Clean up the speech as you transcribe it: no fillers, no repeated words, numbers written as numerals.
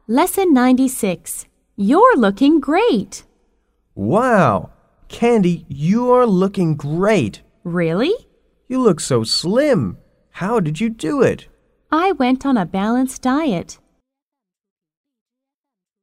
Lesson 96. You're looking great. Wow! Candy, you are looking great. Really? You look so slim. How did you do it? I went on a balanced diet.